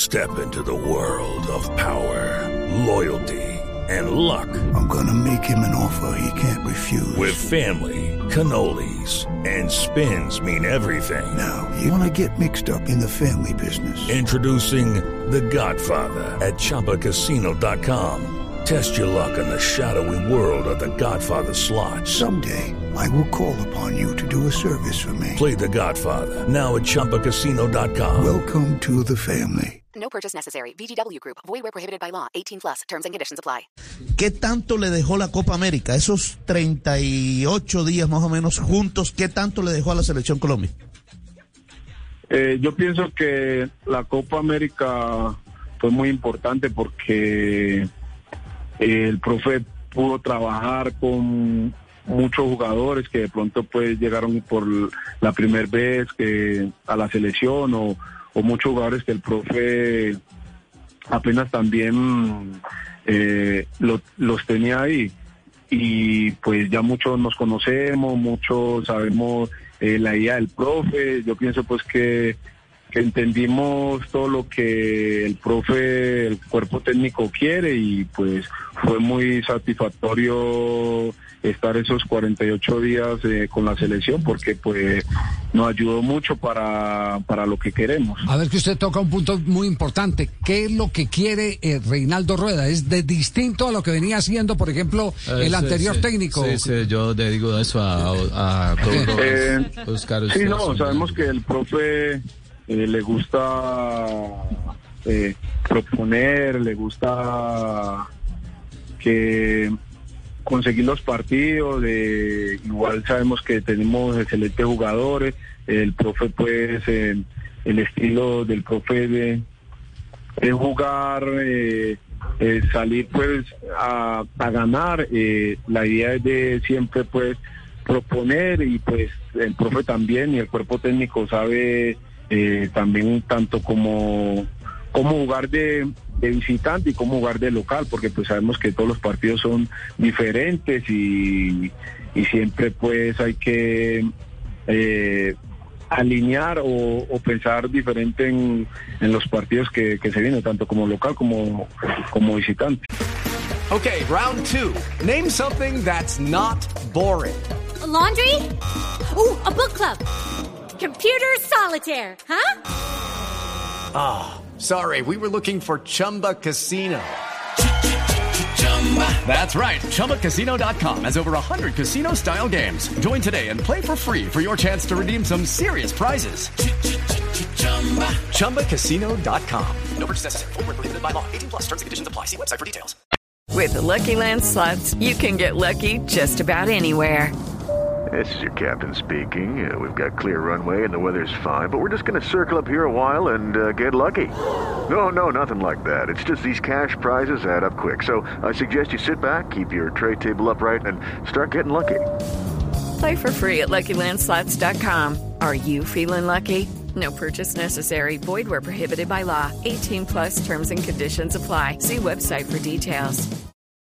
Step into the world of power, loyalty, and luck. I'm gonna make him an offer he can't refuse. With family, cannolis, and spins mean everything. Now, you wanna get mixed up in the family business. Introducing The Godfather at ChumbaCasino.com. Test your luck in the shadowy world of The Godfather slot. Someday, I will call upon you to do a service for me. Play The Godfather now at ChumbaCasino.com. Welcome to the family. No purchase necessary. VGW Group. Void where prohibited by law. 18+. Terms and conditions apply. ¿Qué tanto le dejó la Copa América? Esos 38 días más o menos juntos, ¿qué tanto le dejó a la Selección Colombia? Yo pienso que la Copa América fue muy importante porque el profe pudo trabajar con muchos jugadores que de pronto pues llegaron por la primera vez que a la selección o muchos jugadores que el profe apenas también los tenía ahí, y pues ya muchos nos conocemos, muchos sabemos la idea del profe. Yo pienso pues que entendimos todo lo que el profe, el cuerpo técnico quiere, y pues fue muy satisfactorio estar esos 48 días con la selección, porque pues nos ayudó mucho para lo que queremos. A ver, que usted toca un punto muy importante. ¿Qué es lo que quiere Reinaldo Rueda? ¿Es de distinto a lo que venía haciendo, por ejemplo, el anterior técnico? Sí, yo le digo eso a todos Oscar. Sí, no, sabemos que el profe le gusta proponer, le gusta que conseguir los partidos, igual sabemos que tenemos excelentes jugadores. El profe pues el estilo del profe es jugar, salir pues a ganar. La idea es de siempre pues proponer, y pues el profe también y el cuerpo técnico sabe también tanto como jugar de visitante y cómo jugar de local, porque pues sabemos que todos los partidos son diferentes, y siempre pues hay que alinear o pensar diferente en los partidos que se vienen, tanto como local como visitante. Okay, round two. Name something that's not boring. A laundry? Ooh, a book club. Computer solitaire, huh? Ah, sorry, we were looking for Chumba Casino. That's right, ChumbaCasino.com has over 100 casino-style games. Join today and play for free for your chance to redeem some serious prizes. ChumbaCasino.com. No purchase necessary. Void where prohibited by law. 18+. Terms and conditions apply. See website for details. With the Lucky Land Slots, you can get lucky just about anywhere. This is your captain speaking. We've got clear runway and the weather's fine, but we're just going to circle up here a while and get lucky. No, nothing like that. It's just these cash prizes add up quick. So I suggest you sit back, keep your tray table upright, and start getting lucky. Play for free at LuckyLandSlots.com. Are you feeling lucky? No purchase necessary. Void where prohibited by law. 18+ terms and conditions apply. See website for details.